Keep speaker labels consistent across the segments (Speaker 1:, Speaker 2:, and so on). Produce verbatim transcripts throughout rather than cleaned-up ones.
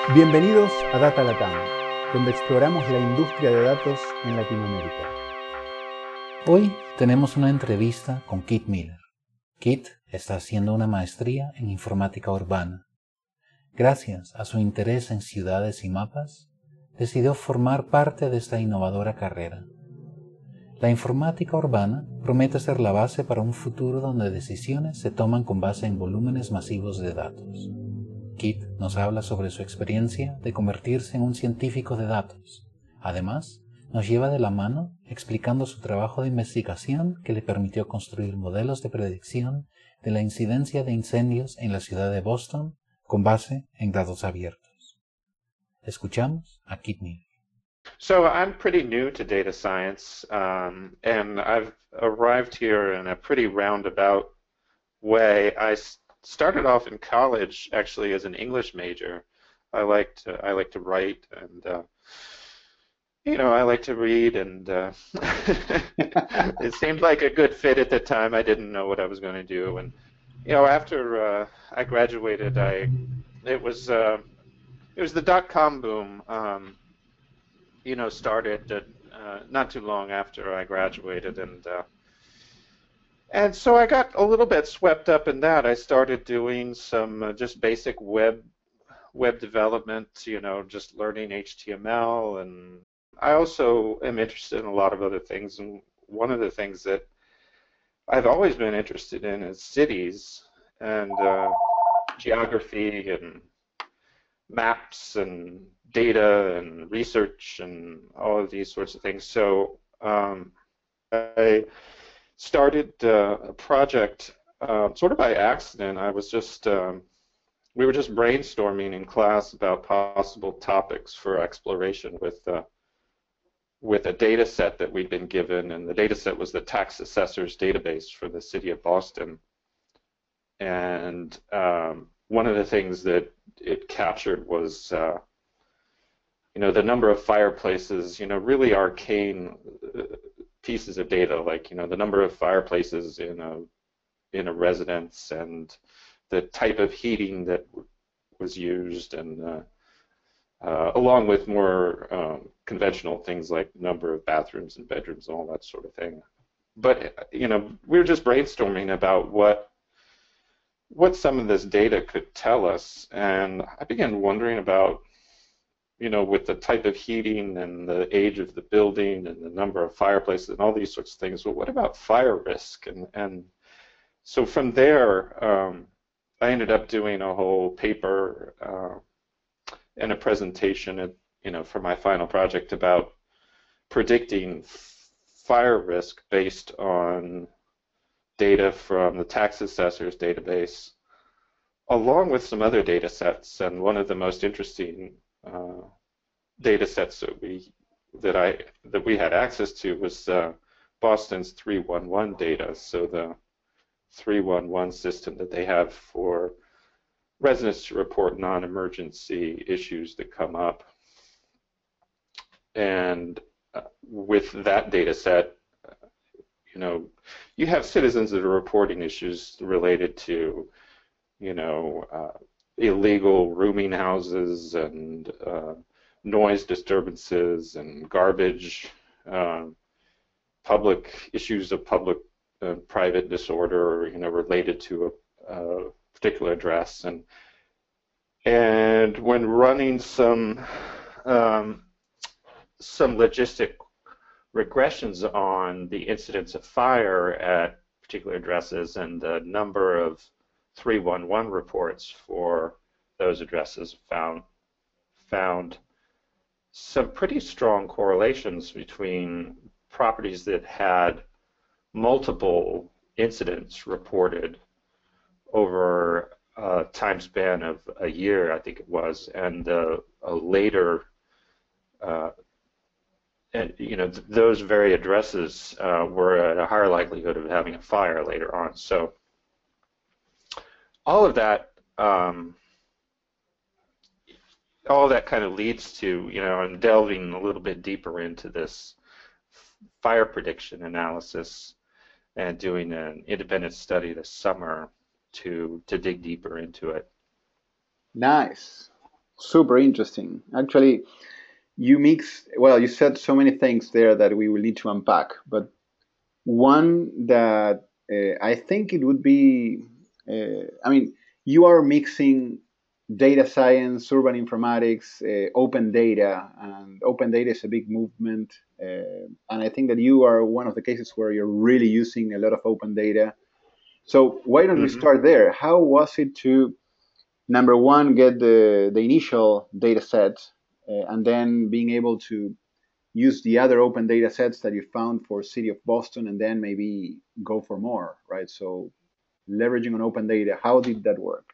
Speaker 1: Bienvenidos a Data Latam, donde exploramos la industria de datos en Latinoamérica.
Speaker 2: Hoy tenemos una entrevista con Kit Miller. Kit está haciendo una maestría en informática urbana. Gracias a su interés en ciudades y mapas, decidió formar parte de esta innovadora carrera. La informática urbana promete ser la base para un futuro donde decisiones se toman con base en volúmenes masivos de datos. Kit nos habla sobre su experiencia de convertirse en un científico de datos. Además, nos lleva de la mano explicando su trabajo de investigación que le permitió construir modelos de predicción de la incidencia de incendios en la ciudad de Boston con base en datos abiertos. Escuchamos a Kit Miller.
Speaker 3: So I'm pretty new to data science, um, and I've arrived here in a pretty roundabout way. I started off in college actually as an English major. I like to I like to write, and uh, you know I like to read, and uh, it seemed like a good fit at the time. I didn't know what I was going to do, and you know after uh, I graduated, I it was uh, it was the dot-com boom. Um, you know, started uh, not too long after I graduated, and uh, and so I got a little bit swept up in that. I started doing some uh, just basic web web development, you know, just learning H T M L, and I also am interested in a lot of other things. And one of the things that I've always been interested in is cities and uh, geography and maps and data and research and all of these sorts of things. So um, I started uh, a project uh, sort of by accident. I was just, um, we were just brainstorming in class about possible topics for exploration with, uh, with a data set that we'd been given, and the data set was the tax assessors database for the city of Boston. And um, one of the things that it captured was uh, you know, the number of fireplaces, you know, really arcane pieces of data, like, you know, the number of fireplaces in a in a residence and the type of heating that was used, and uh, uh, along with more um, conventional things like number of bathrooms and bedrooms and all that sort of thing. But, you know, we were just brainstorming about what what some of this data could tell us, and I began wondering about, you know, with the type of heating and the age of the building and the number of fireplaces and all these sorts of things, well, what about fire risk? And, and so from there, um, I ended up doing a whole paper uh, and a presentation, at, you know, for my final project about predicting fire risk based on data from the tax assessors database, along with some other data sets. And one of the most interesting Uh, data sets that we that I that we had access to was uh, Boston's three one one data. So the three one one system that they have for residents to report non-emergency issues that come up. And uh, with that data set, uh, you know, you have citizens that are reporting issues related to, you know, uh, illegal rooming houses and uh, noise disturbances and garbage, uh, public issues of public uh, private disorder, you know, related to a, a particular address. And and when running some um, some logistic regressions on the incidence of fire at particular addresses and the number of three one one reports for those addresses, found found some pretty strong correlations between properties that had multiple incidents reported over a time span of a year, I think it was, and uh, a later, uh, and you know, th those very addresses uh, were at a higher likelihood of having a fire later on. So all of that, um, all of that kind of leads to, you know, I'm delving a little bit deeper into this fire prediction analysis and doing an independent study this summer to to dig deeper into it.
Speaker 4: Nice.
Speaker 1: Super interesting. Actually, you mix, well, you said so many things there that we will need to unpack, but one that uh, I think it would be, uh, I mean, you are mixing data science, urban informatics, uh, open data, and open data is a big movement. Uh, and I think that you are one of the cases where you're really using a lot of open data. So why don't we
Speaker 3: Mm-hmm.
Speaker 1: start there? How was it to, number one, get the, the initial data set, uh, and then being able to use the other open data sets that you found for City of Boston, and then maybe go for more, right? So leveraging on open data, how did that work?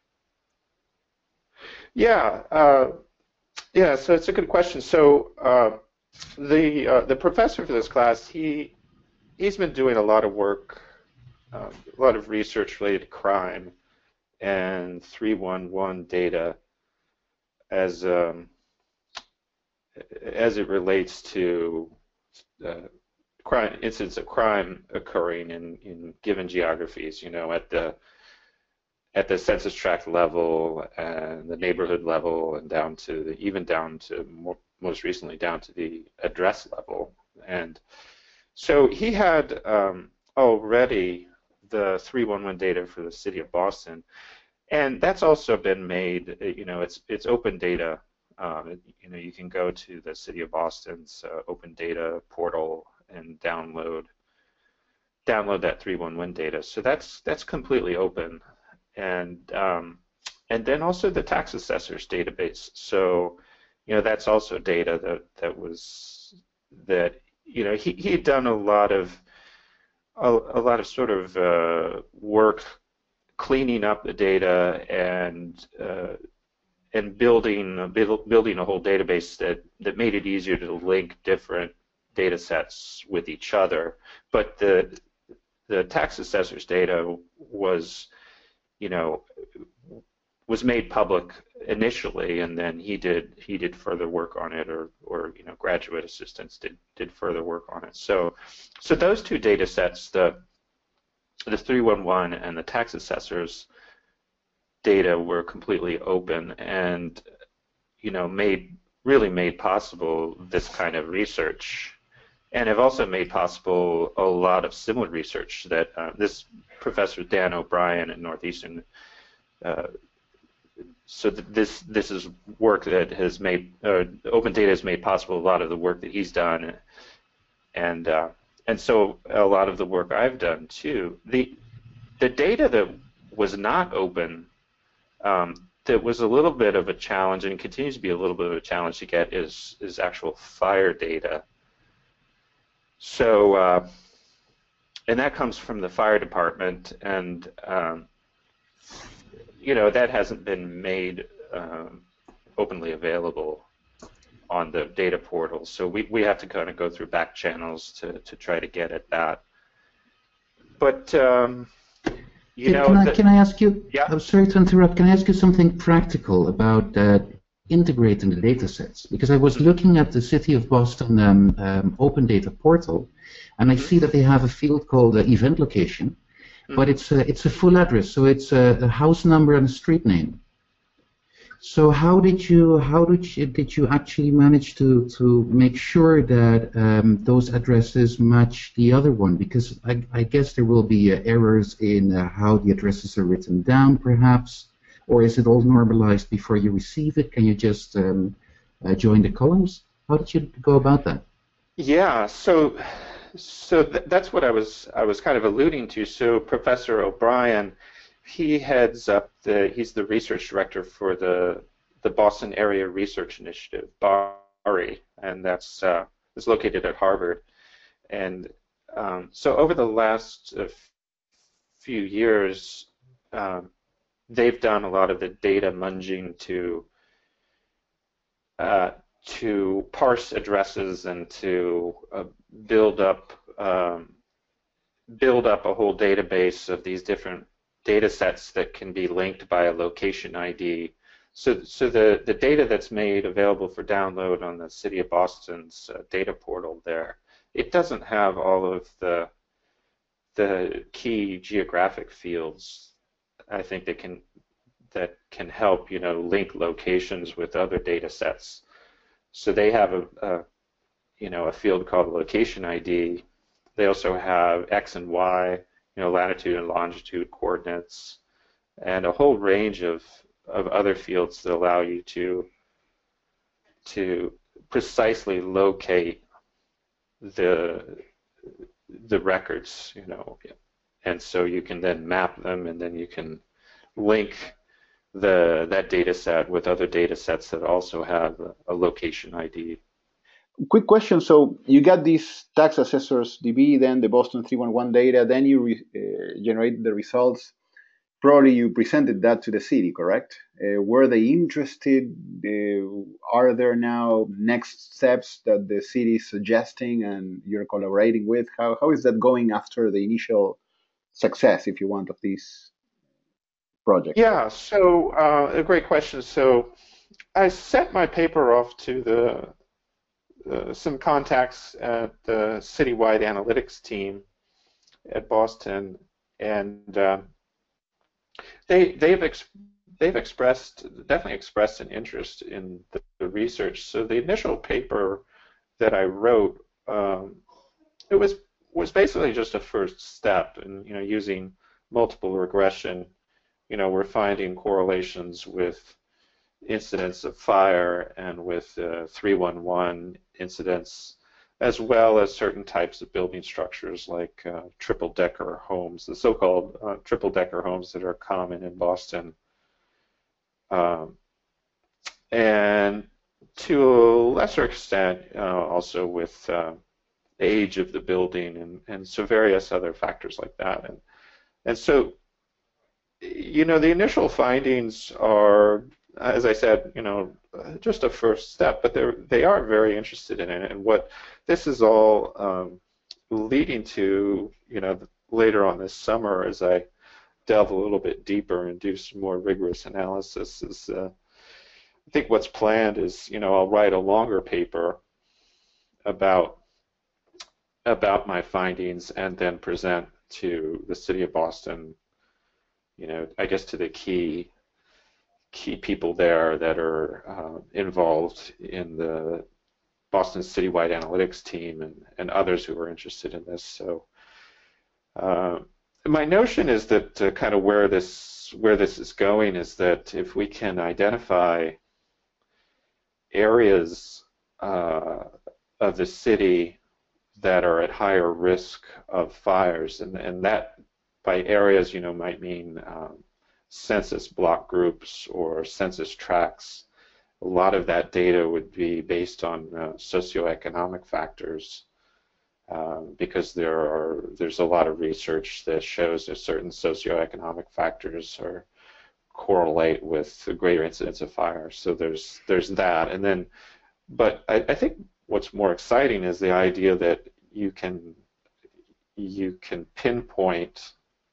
Speaker 3: Yeah, uh, yeah. So it's a good question. So uh, the uh, the professor for this class, he he's been doing a lot of work, um, a lot of research related to crime and three one one data as um, as it relates to uh, crime incidents of crime occurring in, in given geographies. You know, at the at the census tract level and the neighborhood level, and down to the, even down to more, most recently down to the address level. And so he had um, already the three one one data for the city of Boston, and that's also been made. You know, it's it's open data. Um, you know, you can go to the city of Boston's uh, open data portal and download download that three one one data. So that's that's completely open. And um, and then also the tax assessors database. So, you know, that's also data that that was that you know he he had done a lot of a, a lot of sort of uh, work cleaning up the data and uh, and building building a whole database that that made it easier to link different data sets with each other. But the the tax assessors data was you know, was made public initially, and then he did he did further work on it, or or you know, graduate assistants did did further work on it. So, so those two data sets, the the three one one and the tax assessors data, were completely open, and you know, made really made possible this kind of research, and have also made possible a lot of similar research that uh, this Professor Dan O'Brien at Northeastern. Uh, so th this this is work that has made uh, open data has made possible a lot of the work that he's done, and uh, and so a lot of the work I've done too. The the data that was not open, um, that was a little bit of a challenge and continues to be a little bit of a challenge to get, is is actual fire data. So. Uh, And that comes from the fire department, and um, you know, that hasn't been made um, openly available on the data portal. So we, we have to kind of go through back channels to, to try to get at that. But um, you
Speaker 2: can,
Speaker 3: know,
Speaker 2: can I
Speaker 3: the,
Speaker 2: can I ask you?
Speaker 3: Yeah.
Speaker 2: I'm sorry to interrupt. Can I ask you something practical about uh, integrating the data sets? Because I was looking at the City of Boston um, um, Open Data Portal, and I mm-hmm. see that they have a field called uh, event location, mm-hmm. but it's a, it's a full address, so it's a, a house number and a street name. So how did you how did you did you actually manage to to make sure that um, those addresses match the other one? Because I, I guess there will be uh, errors in uh, how the addresses are written down, perhaps, or is it all normalized before you receive it? Can you just um, uh, join the columns? How did you go about that?
Speaker 3: Yeah, so. So th that's what I was I was kind of alluding to. So Professor O'Brien, he heads up the he's the research director for the the Boston Area Research Initiative, BARI, and that's uh, is located at Harvard. And um, so over the last uh, few years, um, they've done a lot of the data munging to uh, to parse addresses and to uh, build up um, build up a whole database of these different data sets that can be linked by a location I D. So, so the, the data that's made available for download on the City of Boston's uh, data portal there, it doesn't have all of the the key geographic fields, I think, that can that can help, you know, link locations with other data sets. So they have a, a you know, a field called location I D. They also have X and Y, you know, latitude and longitude coordinates, and a whole range of, of other fields that allow you to to precisely locate the the records, you know, and so you can then map them, and then you can link the that data set with other data sets that also have a, a location I D.
Speaker 1: Quick question. So you got these tax assessors D B, then the Boston three one one data, then you re, uh, generate the results. Probably you presented that to the city, correct? Uh, were they interested? Uh, are there now next steps that the city is suggesting and you're collaborating with? How, how is that going after the initial success, if you want, of this project?
Speaker 3: Yeah, so uh, a great question. So I sent my paper off to the uh, some contacts at the citywide analytics team at Boston, and uh, they they've ex they've expressed definitely expressed an interest in the, the research. So the initial paper that I wrote, um, it was was basically just a first step in, you know, using multiple regression. You know, we're finding correlations with incidents of fire and with uh, three one one incidents, as well as certain types of building structures like uh, triple-decker homes, the so-called uh, triple-decker homes that are common in Boston. Um, and to a lesser extent, uh, also with uh, age of the building and, and so various other factors like that. And, and so, you know, the initial findings are, as I said, you know, just a first step, but they're, they are very interested in it. And what this is all um, leading to, you know, later on this summer, as I delve a little bit deeper and do some more rigorous analysis, is uh, I think what's planned is, you know, I'll write a longer paper about about my findings and then present to the city of Boston, you know, I guess to the key key people there that are uh, involved in the Boston Citywide Analytics team and, and others who are interested in this. So uh, my notion is that uh, kind of where this where this is going is that if we can identify areas uh, of the city that are at higher risk of fires, and, and that by areas, you know, might mean um, census block groups or census tracts. A lot of that data would be based on uh, socioeconomic factors, uh, because there are there's a lot of research that shows that certain socioeconomic factors are correlate with a greater incidence of fire. So there's there's that, and then, but I, I think what's more exciting is the idea that you can you can pinpoint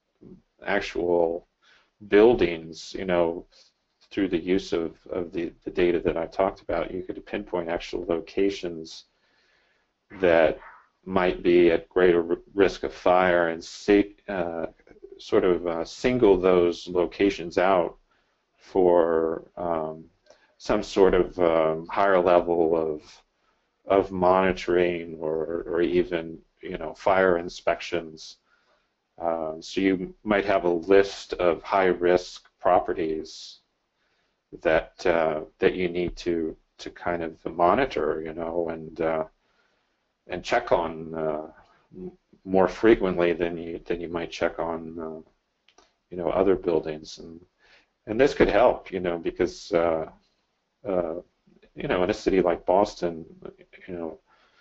Speaker 3: actual buildings, you know, through the use of, of the, the data that I talked about. You could pinpoint actual locations that might be at greater risk of fire and see, uh, sort of uh, single those locations out for um, some sort of um, higher level of of monitoring or, or even, you know, fire inspections. Uh, so you might have a list of high-risk properties that uh, that you need to to kind of monitor, you know, and uh, and check on uh, more frequently than you than you might check on, uh, you know, other buildings, and and this could help, you know, because uh, uh, you know, in a city like Boston, you know,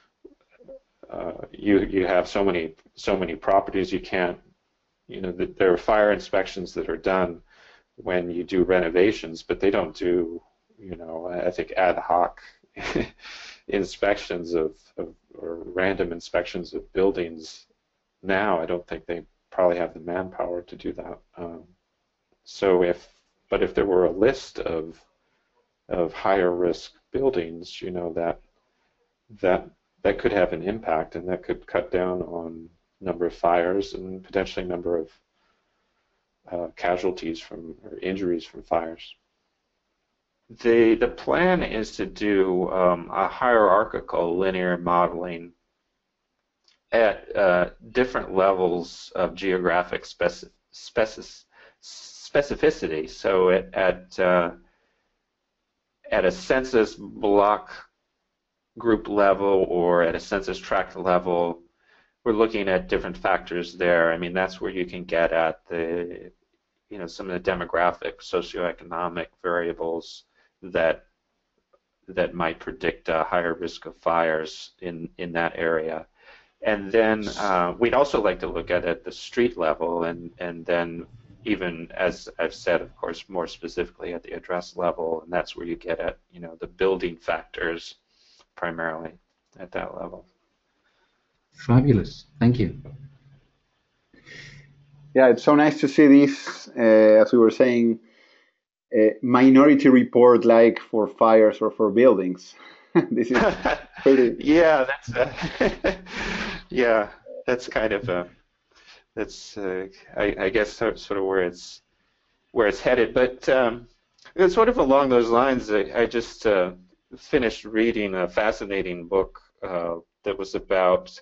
Speaker 3: uh, you you have so many so many properties you can't, you know, there are fire inspections that are done when you do renovations, but they don't do, you know, I think ad hoc inspections of, of or random inspections of buildings now. I don't think they probably have the manpower to do that. Um, so if, but if there were a list of of higher risk buildings, you know, that that that could have an impact, and that could cut down on number of fires and potentially number of uh, casualties from or injuries from fires. The the plan is to do um, a hierarchical linear modeling at uh, different levels of geographic speci speci specificity. So at at, uh, at a census block group level or at a census tract level, we're looking at different factors there. I mean, that's where you can get at the, you know, some of the demographic, socioeconomic variables that that might predict a higher risk of fires in in that area. And then uh, we'd also like to look at it at the street level, and and then even, as I've said, of course, more specifically at the address level, and that's where you get at, you know, the building factors primarily at that level.
Speaker 2: Fabulous. Thank you.
Speaker 1: Yeah, it's so nice to see this, uh, as we were saying, uh, minority report like for fires or for buildings. This is pretty.
Speaker 3: Yeah, that's uh, yeah, that's kind of uh, that's uh, I, I guess sort sort of where it's where it's headed. But um, it's sort of along those lines. I, I just uh, finished reading a fascinating book uh, that was about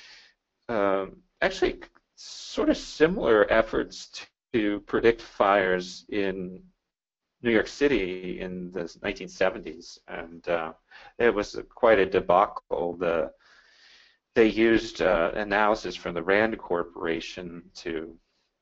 Speaker 3: um, actually sort of similar efforts to predict fires in New York City in the nineteen seventies, and uh, it was a, quite a debacle. The they used uh, analysis from the Rand Corporation to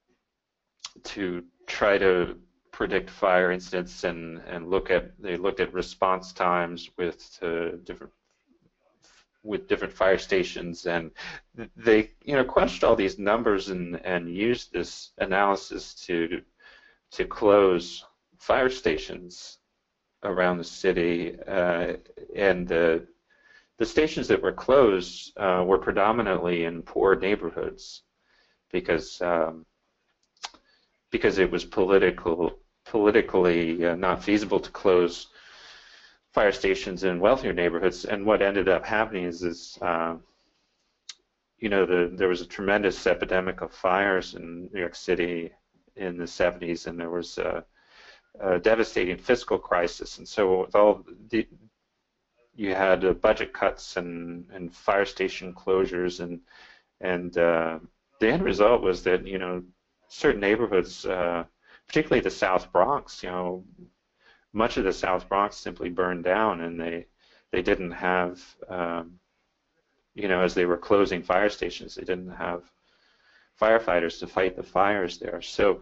Speaker 3: to try to predict fire incidents and and look at they looked at response times with uh, different with different fire stations, and they you know crunched all these numbers and and used this analysis to to close fire stations around the city, uh, and the the stations that were closed uh, were predominantly in poor neighborhoods because um, because it was political politically uh, not feasible to close fire stations in wealthier neighborhoods. And what ended up happening is, is uh, you know, the, there was a tremendous epidemic of fires in New York City in the seventies, and there was a, a devastating fiscal crisis. And so with all the, you had uh, budget cuts and, and fire station closures, and and uh, the end result was that, you know, certain neighborhoods, uh, particularly the South Bronx, you know, much of the South Bronx simply burned down, and they they didn't have, um, you know, as they were closing fire stations, they didn't have firefighters to fight the fires there. So,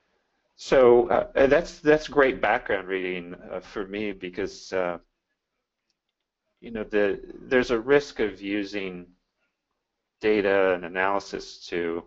Speaker 3: so uh, that's that's great background reading uh, for me, because uh, you know the there's a risk of using data and analysis to.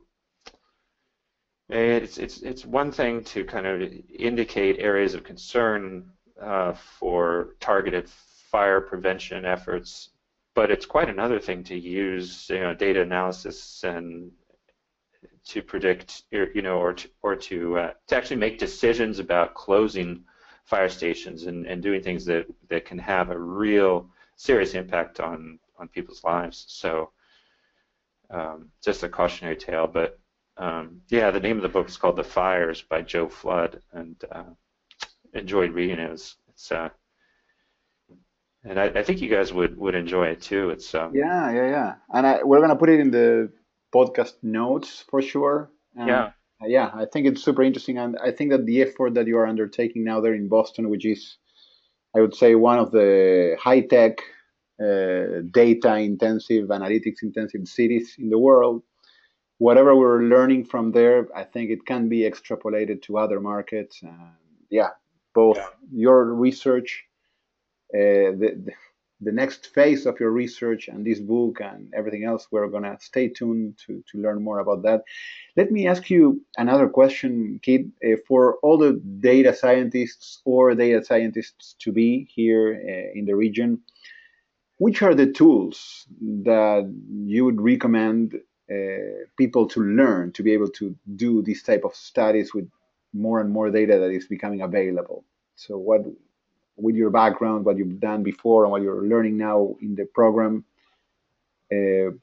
Speaker 3: It's it's it's one thing to kind of indicate areas of concern uh, for targeted fire prevention efforts, but it's quite another thing to use, you know, data analysis and to predict, you know, or to, or to uh, to actually make decisions about closing fire stations and, and doing things that that can have a real serious impact on on people's lives. So um, just a cautionary tale, but. Um, yeah, the name of the book is called The Fires by Joe Flood, and uh, enjoyed reading it. It's, it's uh, and I, I think you guys would, would enjoy it too. It's um,
Speaker 1: Yeah, yeah, yeah. And I, we're gonna put it in the podcast notes for sure. And
Speaker 3: yeah,
Speaker 1: yeah, I think it's super interesting, and I think that the effort that you are undertaking now there in Boston, which is, I would say, one of the high-tech, uh, data-intensive, analytics-intensive cities in the world. Whatever we're learning from there, I think it can be extrapolated to other markets. And yeah, both
Speaker 3: yeah.
Speaker 1: your research, uh, the, the next phase of your research, and this book and everything else, we're going to stay tuned to, to learn more about that. Let me ask you another question, Kit. Uh, for all the data scientists or data scientists to be here uh, in the region, which are the tools that you would recommend uh, people to learn to be able to do this type of studies with more and more data that is becoming available? So what, with your background, what you've done before and what you're learning now in the program, uh,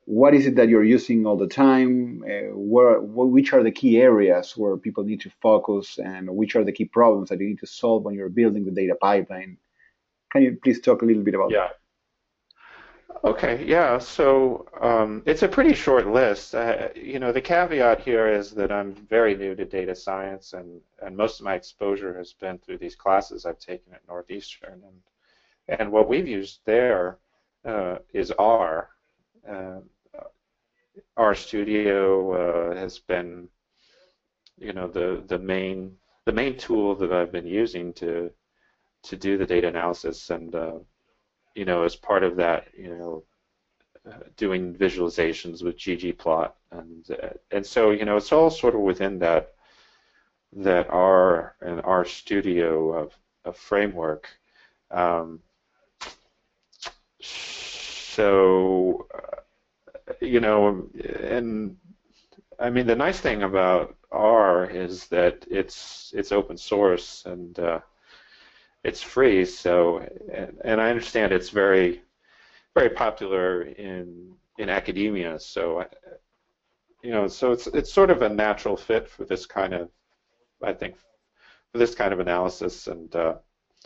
Speaker 1: what is it that you're using all the time? Uh, where, wh- which are the key areas where people need to focus, and which are the key problems that you need to solve when you're building the data pipeline? Can you please talk a little bit about
Speaker 3: Yeah.
Speaker 1: that?
Speaker 3: Okay, yeah. So um, it's a pretty short list. Uh, you know, the caveat here is that I'm very new to data science, and and most of my exposure has been through these classes I've taken at Northeastern, and and what we've used there uh, is R. Uh, R Studio uh, has been, you know, the the main the main tool that I've been using to to do the data analysis, and uh, you know, as part of that, you know, uh, doing visualizations with ggplot, and uh, and so you know it's all sort of within that that R and R Studio of, of framework. Um, so uh, you know, and I mean the nice thing about R is that it's it's open source, and uh, it's free. So and, and I understand it's very very popular in in academia. So you know, so it's it's sort of a natural fit for this kind of, I think, for this kind of analysis. And uh,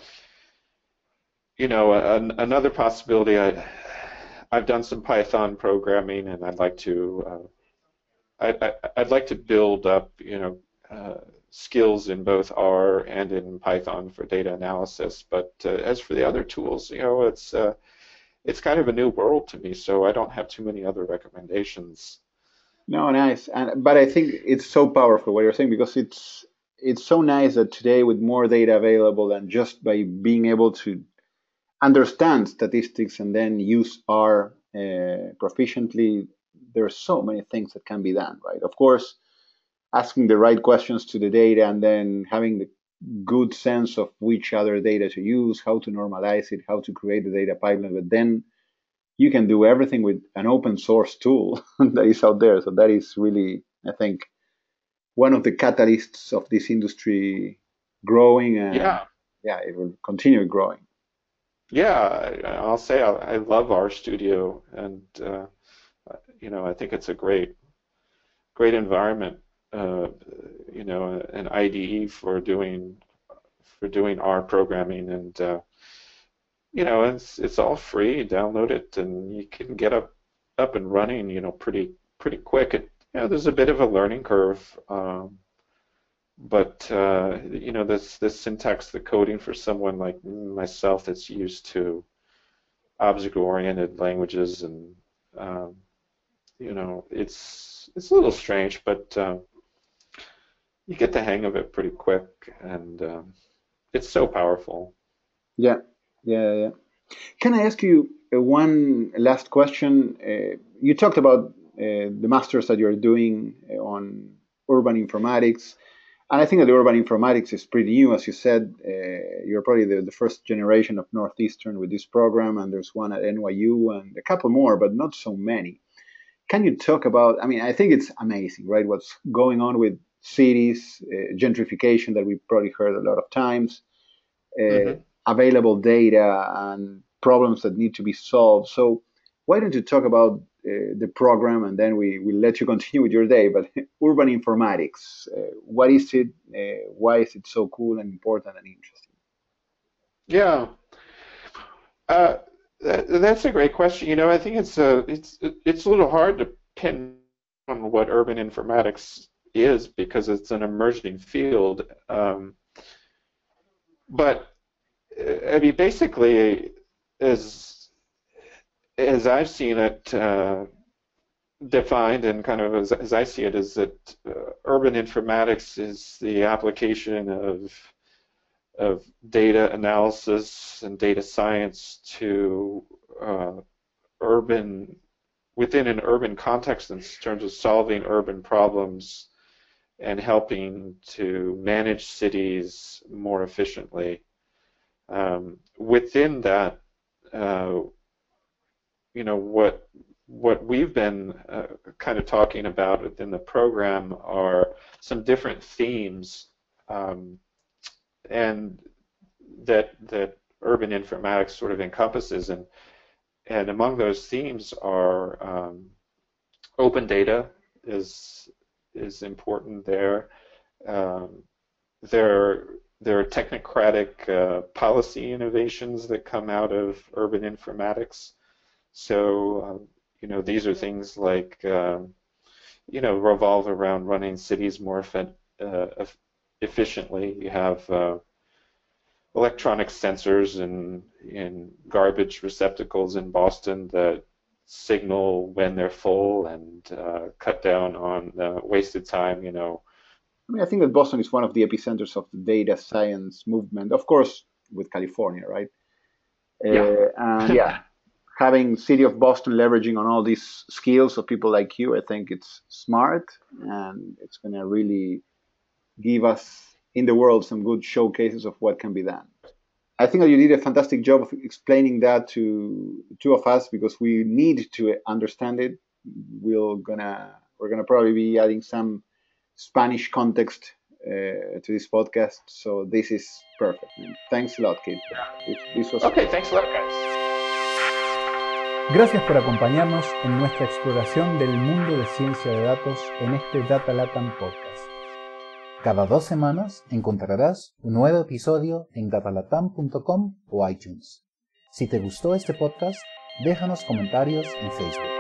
Speaker 3: you know, an, another possibility, I I've done some Python programming, and I'd like to uh, I, I I'd like to build up, you know, uh, skills in both R and in Python for data analysis. But uh, as for the other tools, you know, it's uh, it's kind of a new world to me, so I don't have too many other recommendations.
Speaker 1: No, nice. And but I think it's so powerful what you're saying, because it's it's so nice that today, with more data available, and just by being able to understand statistics and then use R uh, proficiently, there's so many things that can be done, right? Of course, asking the right questions to the data, and then having the good sense of which other data to use, how to normalize it, how to create the data pipeline. But then you can do everything with an open source tool that is out there. So that is really, I think, one of the catalysts of this industry growing, and
Speaker 3: Yeah,
Speaker 1: yeah, it will continue growing.
Speaker 3: yeah, I, I'll say I, I love RStudio, and uh, you know, I think it's a great great environment, uh, you know, an I D E for doing for doing R programming, and uh, you know, it's it's all free. Download it, and you can get up up and running, you know, pretty pretty quick. It, you know, there's a bit of a learning curve, um, but uh, you know, this this syntax, the coding for someone like myself that's used to object-oriented languages, and um, you know, it's it's a little strange, but uh, you get the hang of it pretty quick, and um, it's so powerful.
Speaker 1: Yeah, yeah, yeah. Can I ask you uh, one last question? Uh, you talked about uh, the masters that you're doing uh, on urban informatics. And I think that the urban informatics is pretty new. As you said, uh, you're probably the, the first generation of Northeastern with this program, and there's one at N Y U and a couple more, but not so many. Can you talk about? I mean, I think it's amazing, right? What's going on with cities, uh, gentrification that we've probably heard a lot of times, uh,
Speaker 3: Hmm.
Speaker 1: available data, and problems that need to be solved. So, why don't you talk about uh, the program, and then we will let you continue with your day? But urban informatics, uh, what is it? Uh, why is it so cool and important and interesting?
Speaker 3: Yeah, uh, that, that's a great question. You know, I think it's a it's it's a little hard to pin on what urban informatics is because it's an emerging field. Um, but uh, I mean, basically, as as I've seen it uh, defined, and kind of as, as I see it, is that uh, urban informatics is the application of of data analysis and data science to uh, urban within an urban context in terms of solving urban problems and helping to manage cities more efficiently. Um, within that, uh, you know, what what we've been uh, kind of talking about within the program are some different themes, um, and that that urban informatics sort of encompasses, and and among those themes are um, open data is is important there. Um, there there are technocratic uh, policy innovations that come out of urban informatics. So um, you know, these are things like um, you know, revolve around running cities more effe- uh, efficiently. You have uh, electronic sensors in in garbage receptacles in Boston that signal when they're full and uh, cut down on uh, wasted time. You know.
Speaker 1: I mean, I think that Boston is one of the epicenters of the data science movement, of course, with California, right?
Speaker 3: Yeah.
Speaker 1: Uh, and yeah, having City of Boston leveraging on all these skills of people like you, I think it's smart, and it's going to really give us in the world some good showcases of what can be done. I think that you did a fantastic job of explaining that to two of us, because we need to understand it. We're gonna we're gonna probably be adding some Spanish context uh, to this podcast, so this is perfect. And thanks a lot, Kit. This, this was
Speaker 3: Okay, thanks a lot, guys.
Speaker 2: Gracias por acompañarnos en nuestra exploración del mundo de ciencia de datos en este Data Latam Podcast. Cada dos semanas encontrarás un nuevo episodio en datalatam punto com o iTunes. Si te gustó este podcast, déjanos comentarios en Facebook.